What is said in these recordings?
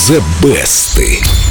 The Best.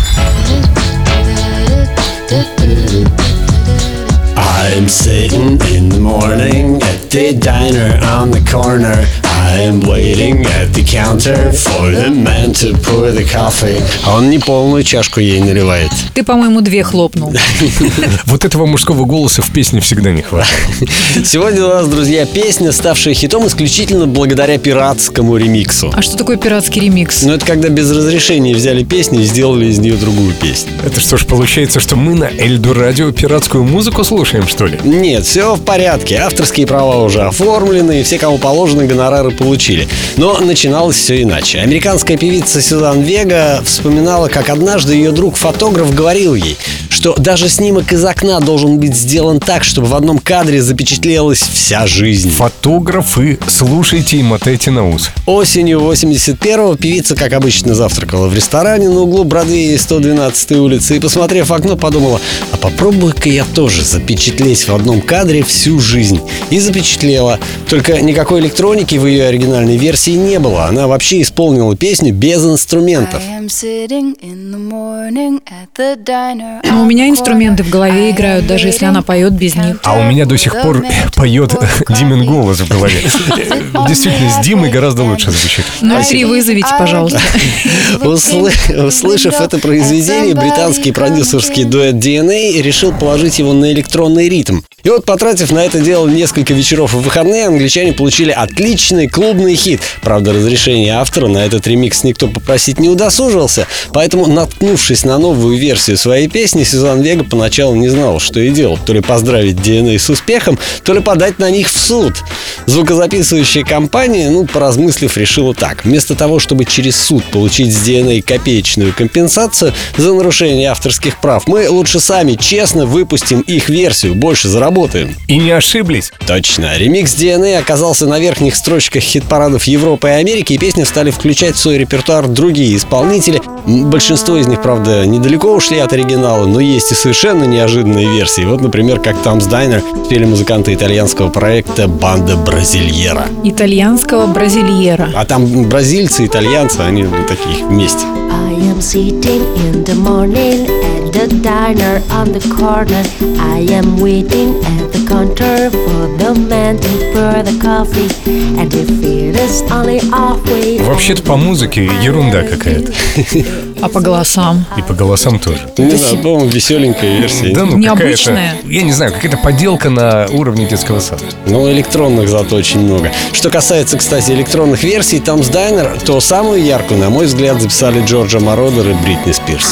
I'm sitting in the morning at the diner on the corner. I am waiting at the counter for the man to pour the coffee. А он не полную чашку ей наливает. Ты, по-моему, 2 хлопнул. Вот этого мужского голоса в песне всегда не хватает. Сегодня у нас, друзья, песня, ставшая хитом исключительно благодаря пиратскому ремиксу. А что такое пиратский ремикс? Ну, это когда без разрешения взяли песню и сделали из нее другую песню. Это что ж, получается, что мы на Эльдо Радио пиратскую музыку слушаем, что ли? Нет, все в порядке. Авторские права уже оформлены, и все, кому положено, гонорары получили. Но начиналось все иначе. Американская певица Сюзан Вега вспоминала, как однажды ее друг-фотограф говорил ей, что даже снимок из окна должен быть сделан так, чтобы в одном кадре запечатлелась вся жизнь. Фотографы, слушайте и мотайте на ус. Осенью 81-го певица, как обычно, завтракала в ресторане на углу Бродвея и 112-й улицы и, посмотрев в окно, подумала: а попробуй-ка я тоже запечатлеть в одном кадре всю жизнь. И запечатлела. Только никакой электроники в ее оригинальной версии не было. Она вообще исполнила песню без инструментов. Но у меня инструменты в голове играют, даже если она поет без них. А у меня до сих пор поет Димин голос в голове. Действительно, с Димой гораздо лучше звучит. Ну, 3 вызовите, пожалуйста. Услышав это произведение, британский продюсерский дуэт DNA решил положить его на электронный ритм. И вот, потратив на это дело несколько вечеров и выходные, англичане получили отличный клубный хит. Правда, разрешение автора на этот ремикс никто попросить не удосужился, поэтому, наткнувшись на новую версию своей песни, Сюзан Вега поначалу не знала, что и делать. То ли поздравить DNA с успехом, то ли подать на них в суд. Звукозаписывающая компания, поразмыслив, решила так: вместо того, чтобы через суд получить с DNA копеечную компенсацию за нарушение авторских прав, мы лучше сами честно выпустим их версию, больше заработаем. И не ошиблись. Точно. Ремикс DNA оказался на верхних строчках хит-парадов Европы и Америки, и песни стали включать в свой репертуар другие исполнители. Большинство из них, правда, недалеко ушли от оригинала, но есть и совершенно неожиданные версии. Вот, например, как Tom's Diner спели музыканты итальянского проекта «Банда Бразильера». Итальянского бразильера. А там бразильцы, итальянцы, они такие вместе. I am sitting in the morning at the diner on the corner. I am waiting at the counter for the man to pour the coffee. And if it is only halfway. Вообще-то по музыке ерунда какая-то. А по голосам? И по голосам тоже. Не знаю, по-моему, веселенькая версия. Да, Необычная. какая-то, я не знаю, какая-то поделка на уровне детского сада. Но электронных зато очень много. Что касается, кстати, электронных версий Tom's Diner, то самую яркую, на мой взгляд, записали Джорджа Мородер и Бритни Спирс.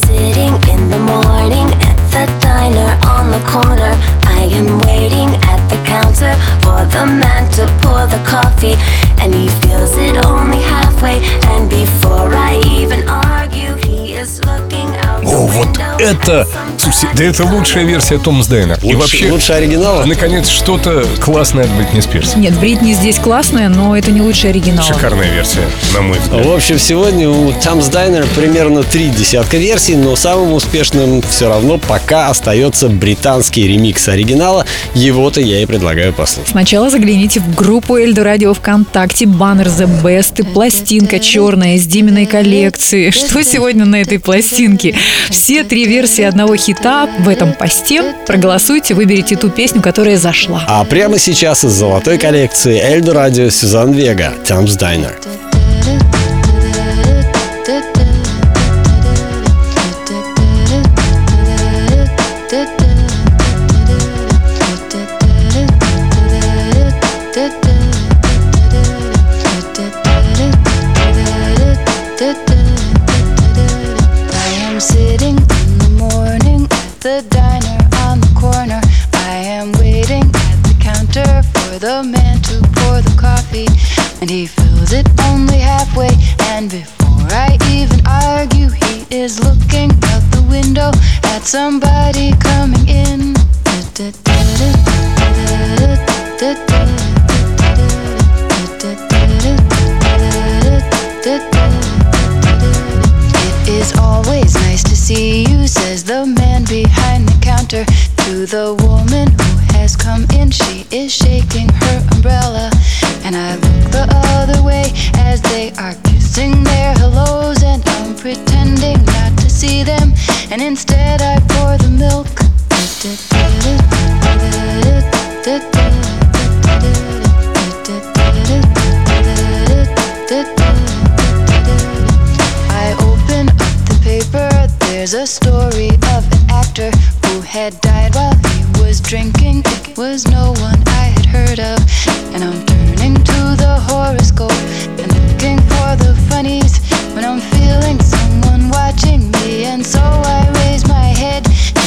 О, вот это... Слушайте, да это лучшая версия Tom's Diner. И вообще, лучше оригинала? наконец, что-то классное от Бритни Спирс. Нет, Бритни здесь классная, но это не лучший оригинал. Шикарная версия, на мой взгляд. В общем, сегодня у Tom's Diner примерно 3 десятка версий, но самым успешным все равно пока остается британский ремикс оригинала. Его-то я и предлагаю послушать. Сначала загляните в группу Эльдо Радио ВКонтакте, баннер The Best и пластинка черная из Диминой коллекции. Что сегодня на этой пластинке? Все 3 версии одного хита в этом посте. Проголосуйте, выберите ту песню, которая зашла. А прямо сейчас из золотой коллекции Эльдо Радио Сюзан Вега, Tom's Diner. Sitting in the morning at the diner on the corner. I am waiting at the counter for the man to pour the coffee, and he fills it only halfway. And before I even argue, he is looking out the window at somebody coming in. It's always nice to see you, says the man behind the counter to the woman who has come in. She is shaking her umbrella, and I look the other way as they are kissing their hellos, and I'm pretty was a story of an actor who had died while he was drinking. It was no one I had heard of. And I'm turning to the horoscope and looking for the funnies when I'm feeling someone watching me. And so I raise my head.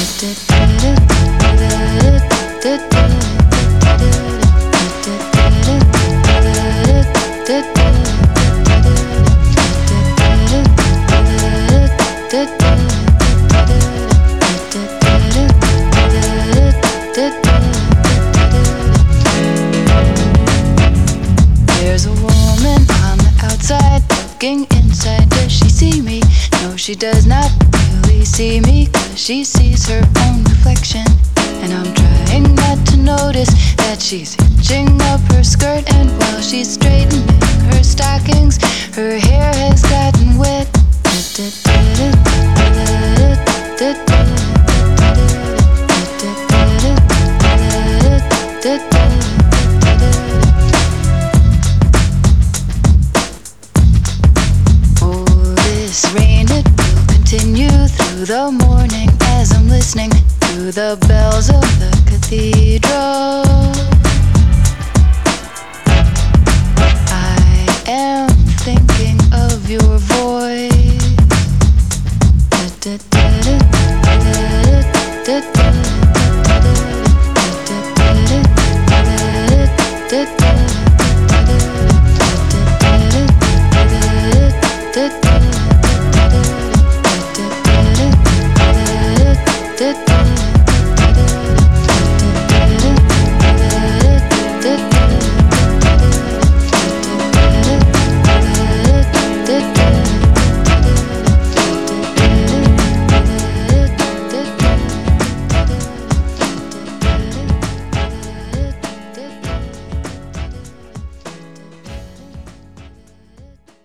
There's a woman on the outside looking inside. Does she see me? No, she does not really see me, 'cause she sees her own reflection. And I'm trying not to notice that she's hitching up her skirt, and while she's straightening her stockings, her hair has gotten wet. Oh, this rain, it will continue through the morning as I'm listening to the bells of the cathedral.